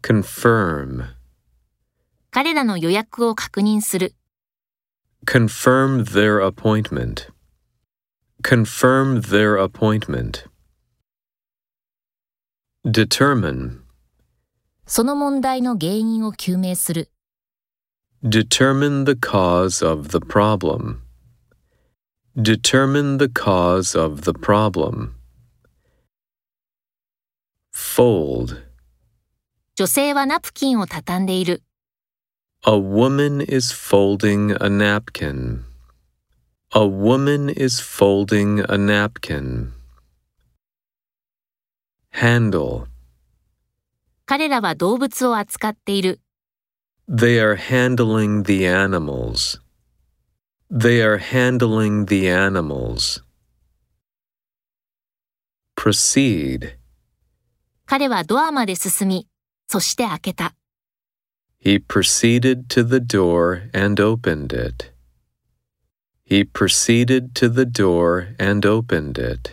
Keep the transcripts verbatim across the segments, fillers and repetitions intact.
confirm, 彼らの予約を確認する。 confirm their appointment, confirm their appointment. Determine, その問題の原因を究明する。 determine the cause of the problem, determine the cause of the problem. Fold, 女性はナプキンを畳んでいる。 a woman is folding a napkin. A woman is folding a napkin. Handle, 彼らは動物を扱っている。 they are handling the animals. They are handling the animals. Proceed, 彼はドアまで進み、そして開けた。 he proceeded to the door and opened it. He proceeded to the door and opened it.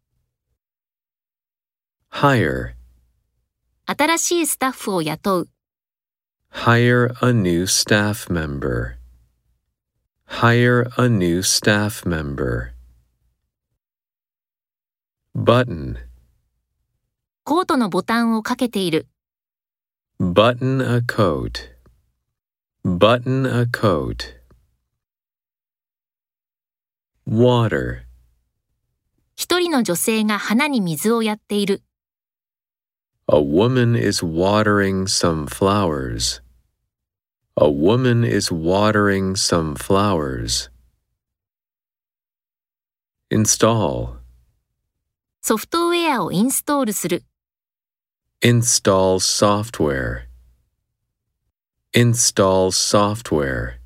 Hire, 新しいスタッフを雇う。 hire a new staff member. Hire a new staff member. Button, コートのボタンをかけている。 button a coat. Button a coat. Water, 一人の女性が花に水をやっている。 a woman is watering some flowers. A woman is watering some flowers. Install, ソフトウェアをインストールする。 install software. Install software.